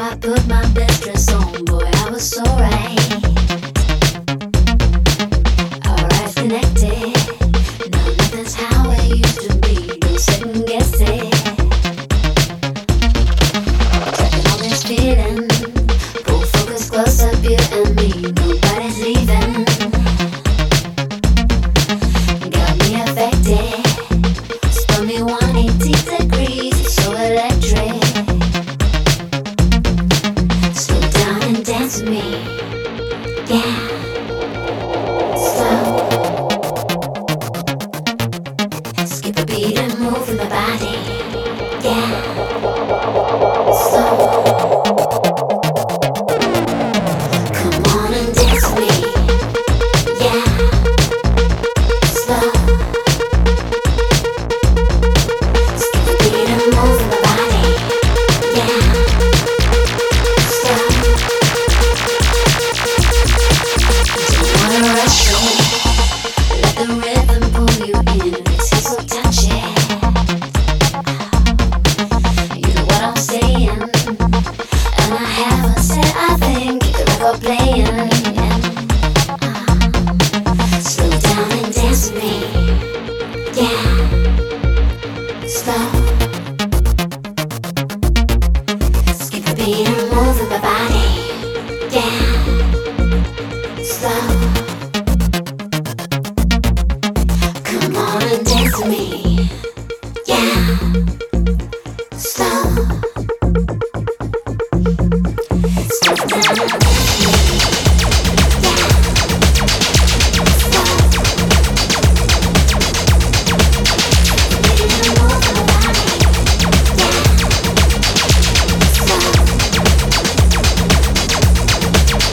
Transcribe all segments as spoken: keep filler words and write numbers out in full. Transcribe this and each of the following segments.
I put my best dress on, boy, I was so right. Alright, connected. Now nothing's how it used to be. Don't second guess it. Tracking all this feeling. Pull focus close up, you and me. Nobody's leaving. Got me affected. Spun me one hundred eighty degrees. So electric. Slow down and dance with me. Yeah. Slow. Skip a beat and move with my body. Yeah. Slow. Come on and dance with me. Yeah. Slow. Skip a beat and move with my body. Yeah. Slow. Don't wanna rush it. Let the rhythm pull you in. It's so touchy. You know what I'm saying, and I haven't said I think the record playing. Uh, slow down and dance with me. Yeah. Slow. Skip a beat and move with my body. Yeah. Slow. Come on and dance with me. Yeah. Slow. Slow down and dance with me. Yeah. Slow. Beat and move with my body. Yeah. Slow.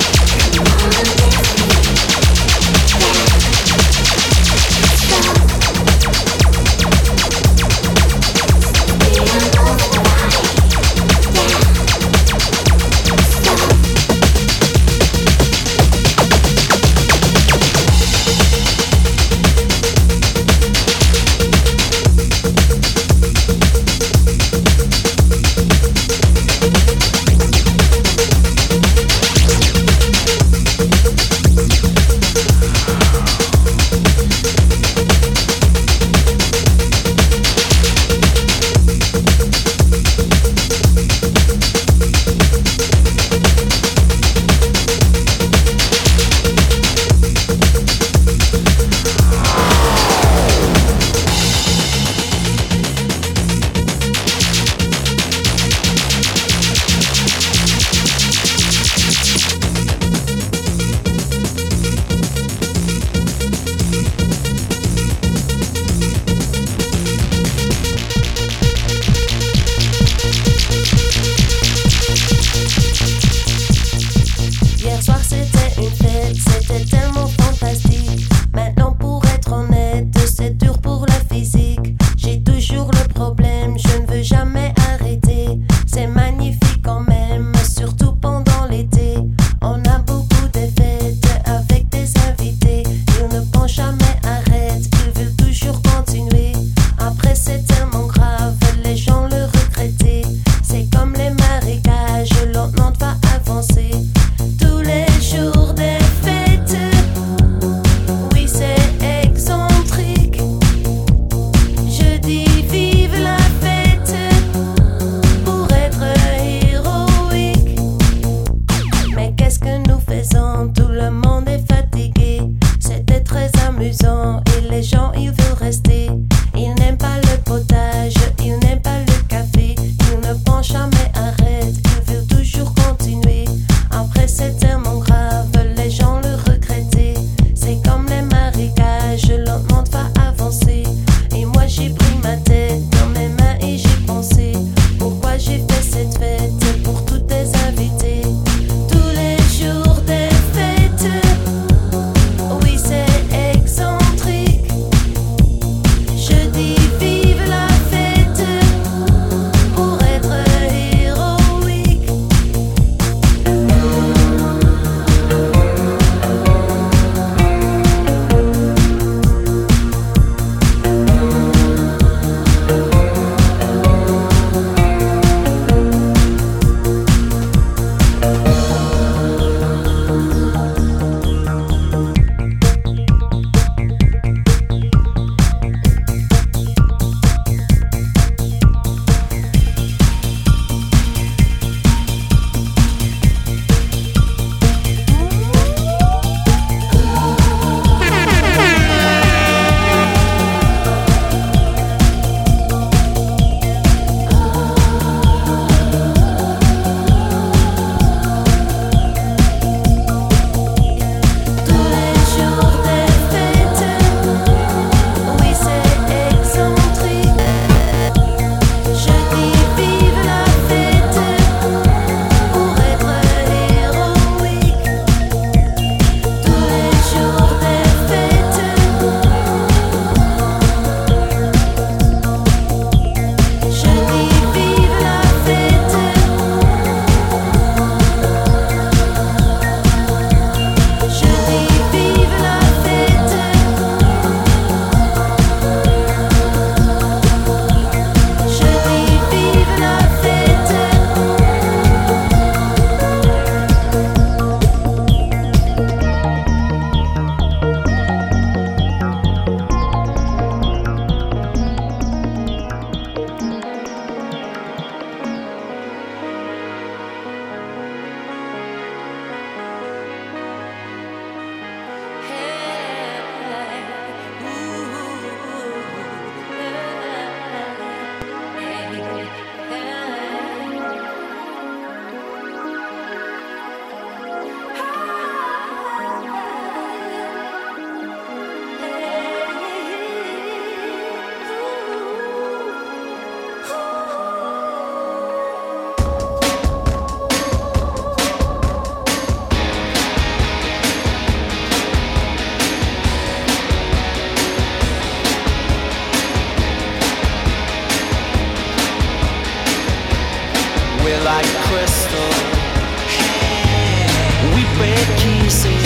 break easy.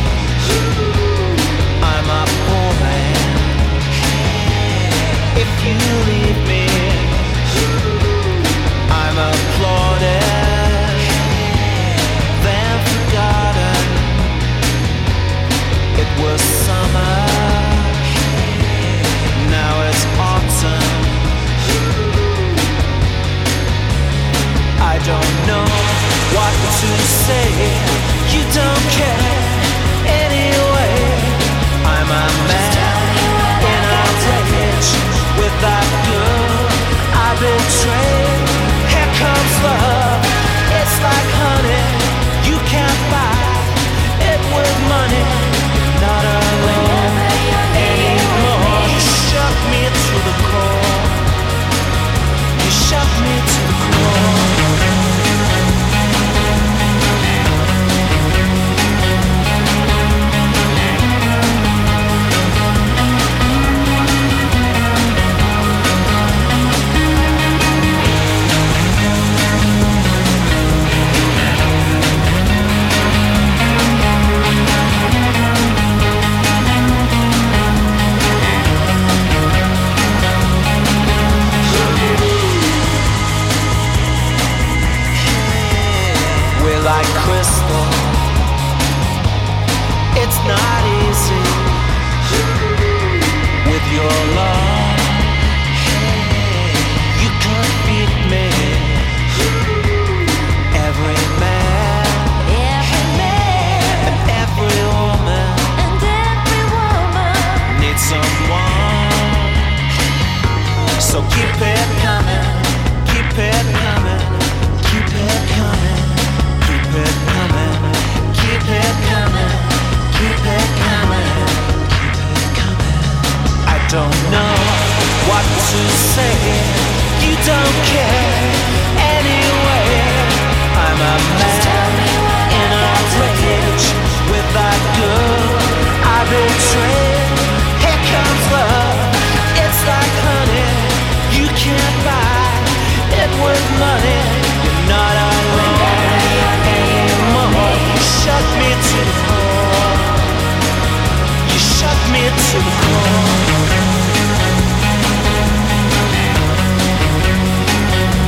I'm a poor man. If you leave me, I'm applauded, then forgotten. It was summer, now it's autumn. I don't know what to say. You don't care anyway. I'm a man in a rage with that girl I betrayed. Here comes love, it's like honey. You can't buy it with money. Not alone anymore. You shook me to the core. You shook me to the core. Like crystal, it's not easy with your love. You can't beat me. Every man, every man, and every woman, and every woman needs someone. So keep it coming, keep it coming, keep it coming. Keep it coming, keep it coming, keep it coming, keep it coming. I don't know what to say. You don't care anyway. I'm a man in a rage with that girl I betrayed. Here comes love, it's like honey. You can't buy it with money. You're not alone. You shut me to the core. You shut me to the core.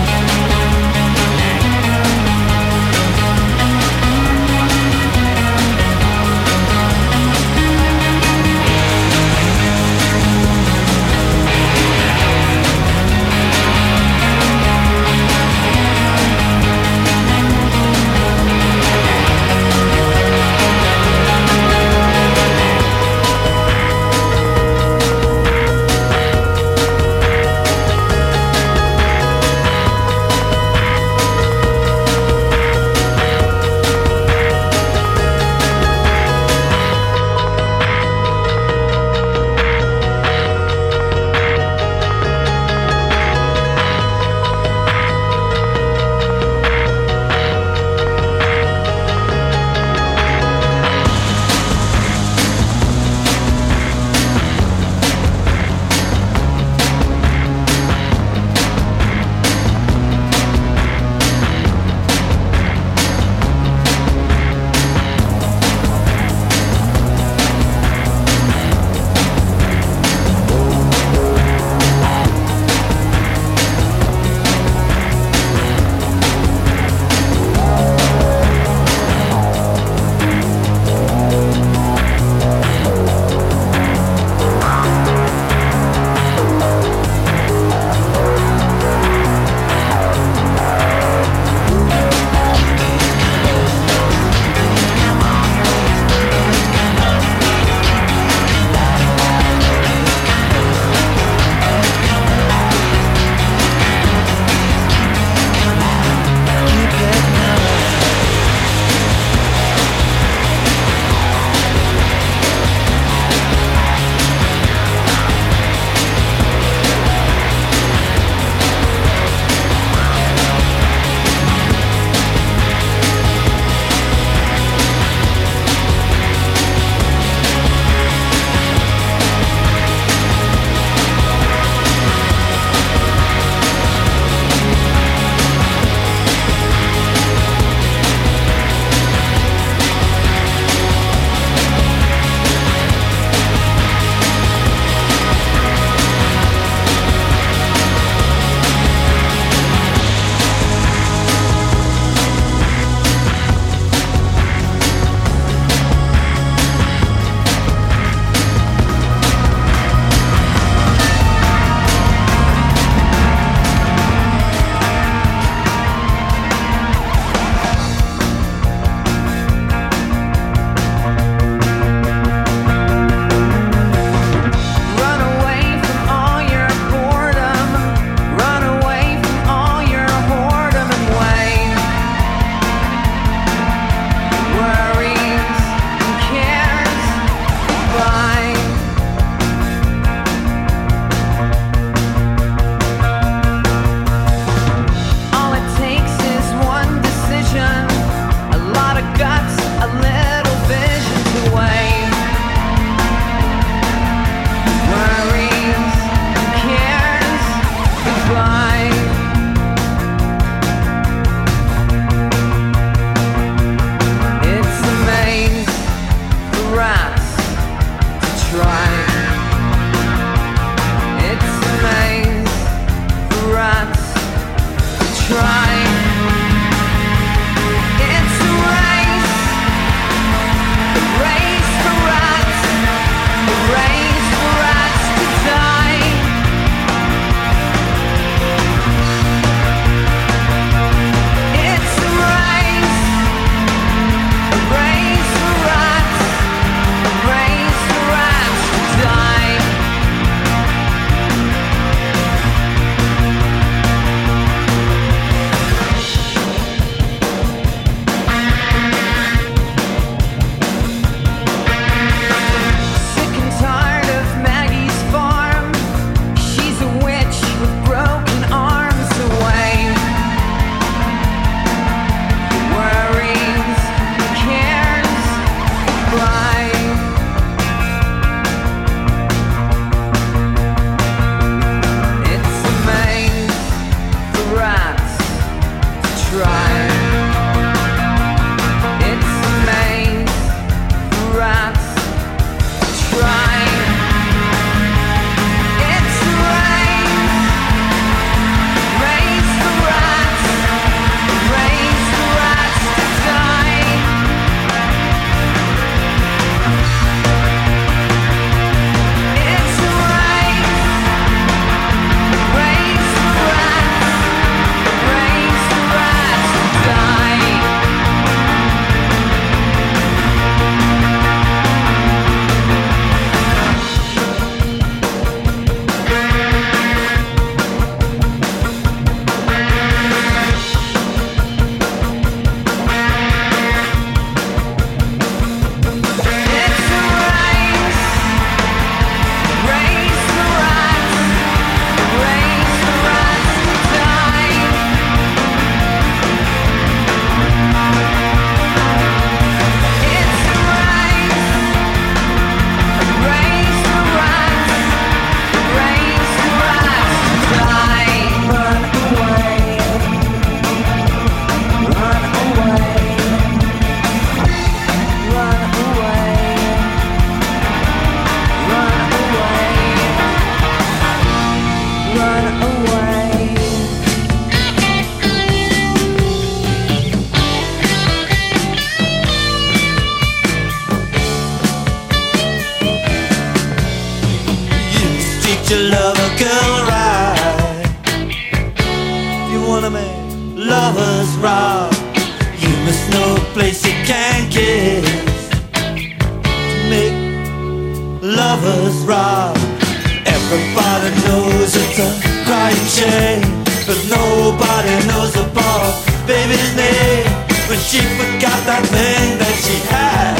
lovers rock. You must know a place you can kiss to make lovers rock. Everybody knows it's a crying shame, but nobody knows the poor baby's name when she forgot that thing that she had.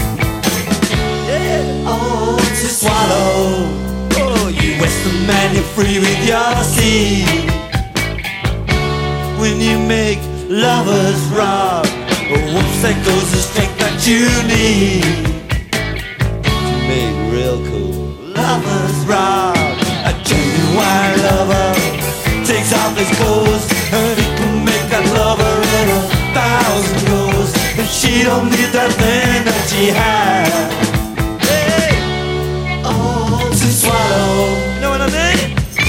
Yeah. Oh, to swallow. Oh, you Western man, you're free with your seed. When you make lovers rock, oh, whoops, that goes the strength that you need to make real cool lovers rock. A genuine lover takes off his clothes and he can make that lover in a thousand goes. And she don't need that thing that she had. Hey, oh, to swallow. You know what I mean?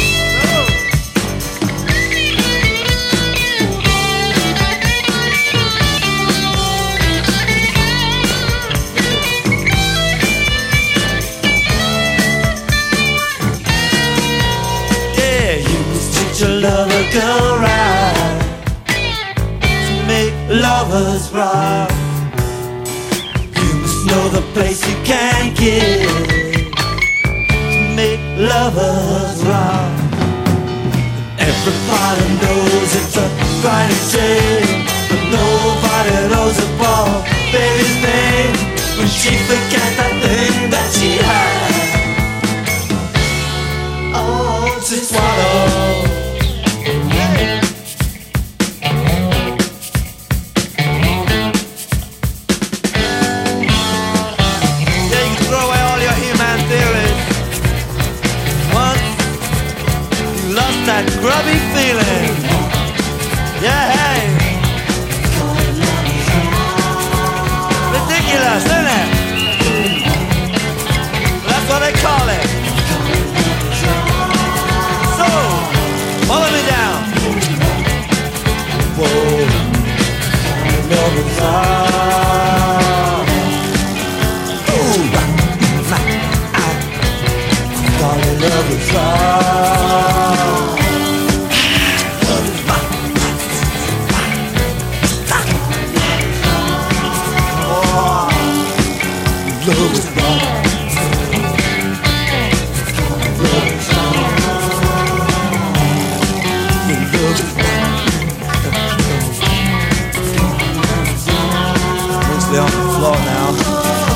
Love a girl right to make lovers rock. You must know the place you can get to make lovers rock. Everybody knows it's a grinding shame, but nobody knows the poor baby's name when she forgot that thing that she had. Oh, to swallow. That grubby feeling, yeah, hey. Ridiculous, isn't it? That's what they call it. So, follow me down. Whoa, love is all. Ooh, darling, love is all. Love is wrong. Love is wrong. Love is wrong. Mostly on the floor now.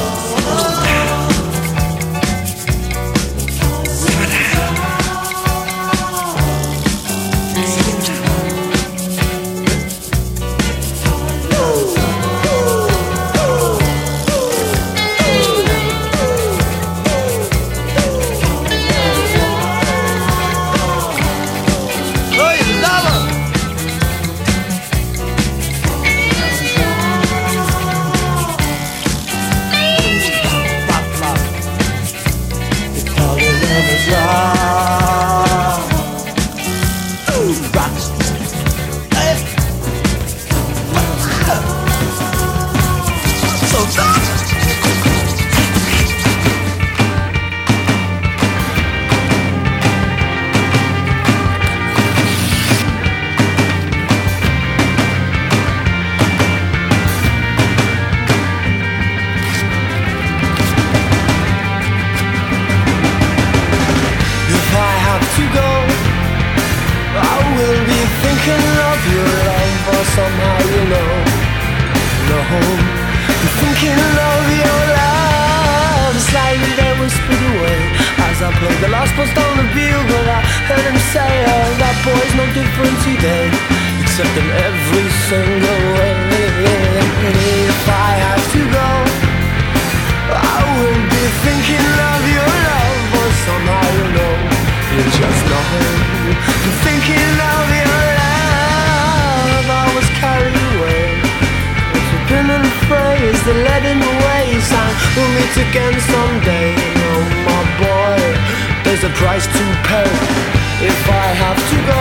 Somehow you know, no, I'm thinking of your love. Slightly they whispered away as I played the last post on the bugle. I heard him say, oh, that boy's no different today, except in every single way. If I have to go, I will be thinking of your love. But somehow you know, you just know, I'm thinking of your love. I was carried away with a pin and phrase that led in the ways. And we'll meet again someday. Oh my boy, there's a price to pay. If I have to go,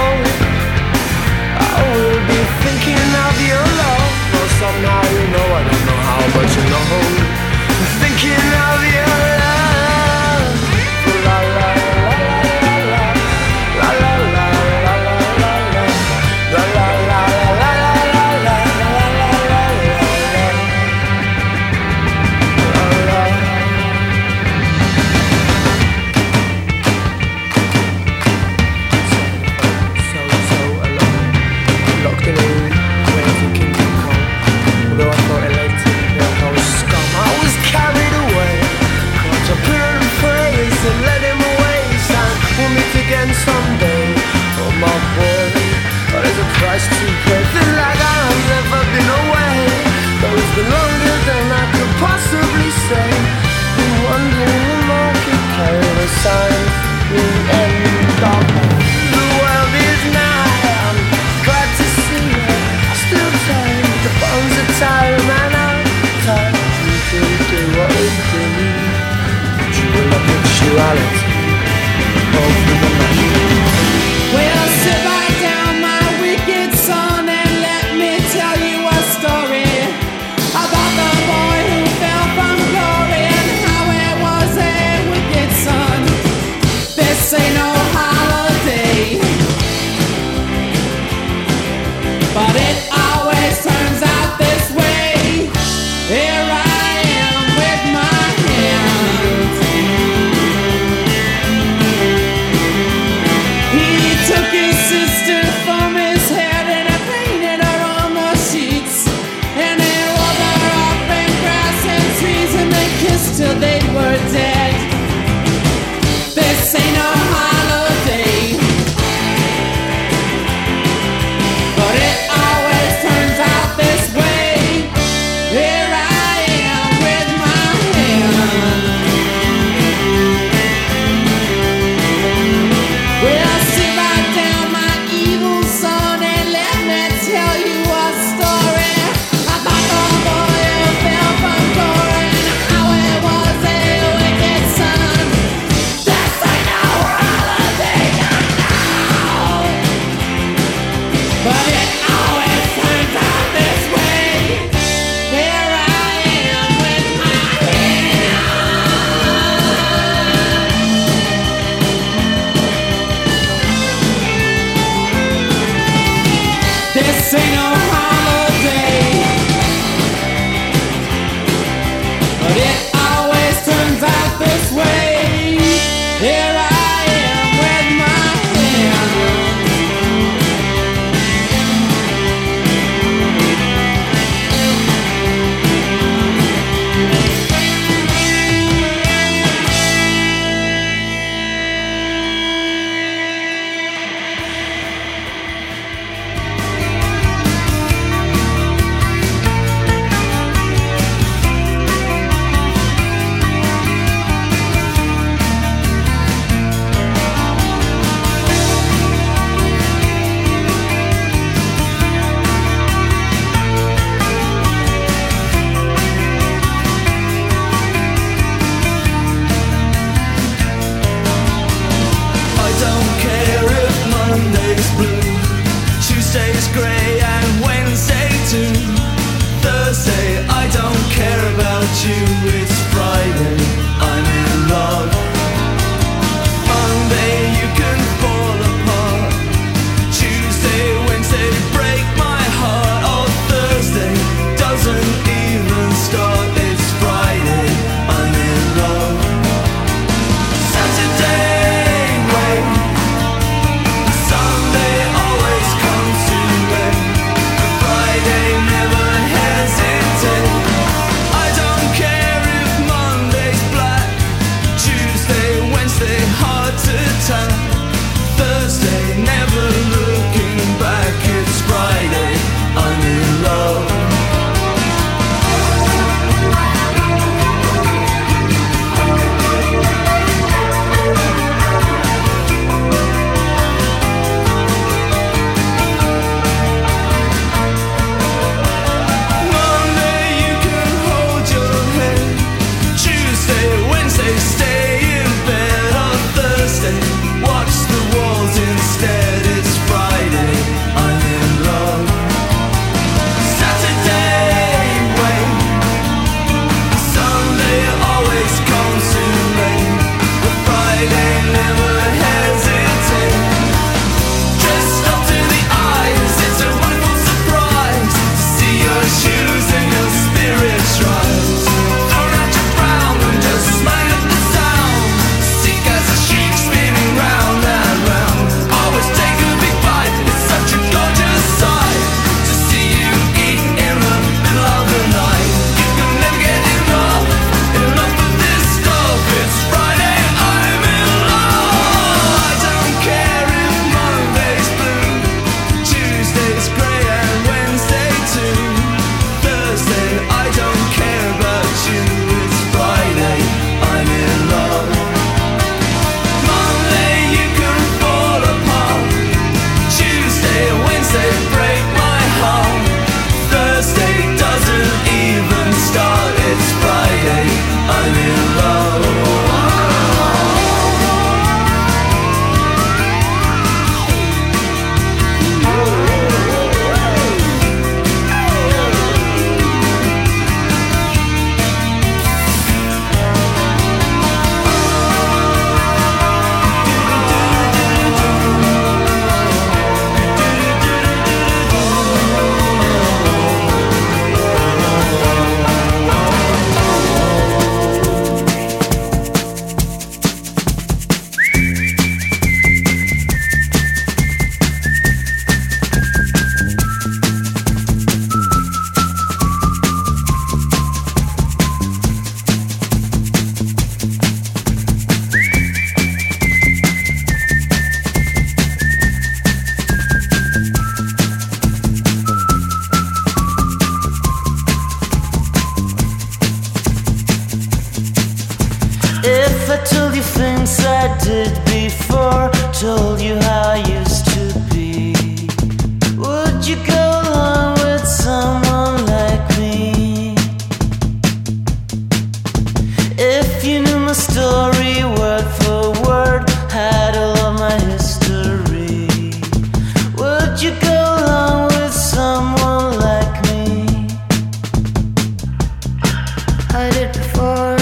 I will be thinking of your love. Well, somehow you know, I don't know how, but you know, I'm thinking of your love. La la la la la la la la la la la la la la la la la. been longer than I could possibly say. Been wondering the market carried a sign the end of the world is nigh. I'm glad to see you. I still tired, the bones are tired, man. I'm tired. You can do what we do. True love mutuality over the night. Well, sit right down, my wicked son, and let me tell you a story about the boy who fell from glory and how it was a wicked son. This ain't no holiday, but it always turns out this way. Here I am with my hands. He took his sister from his head and he painted her on the sheets, and he rolled her up in grass and trees, and they kissed till they were dead. This ain't no holiday, but it always turns out this way. Here I am with my hand. Well, sit right down, my evil son, and let me tell you a story about the boy who fell from glory and how it was a wicked son. This ain't no holiday, I know, but it always turns out this way. Here I am with my hand. This ain't no holiday, but it always turns out this way. Here I am with my hand. I don't care if Monday's blue, Tuesday's grey and Wednesday too. Thursday, I don't care about you, it's Friday, I'm in love. Monday, you can fall apart. Tuesday, Wednesday, break my heart. Oh, Thursday doesn't even start, it's Friday, I'm in love. Saturday, wait. Sunday always comes too late. Friday never hesitate. I don't care if Monday's black. Tuesday, Wednesday, hard to tell. Thursday, never looking back. It's Friday, I'm in love. things I did before, told you how I used to be. Would you go along with someone like me? If you knew my story word for word, had all of my history, would you go along with someone like me? I did before.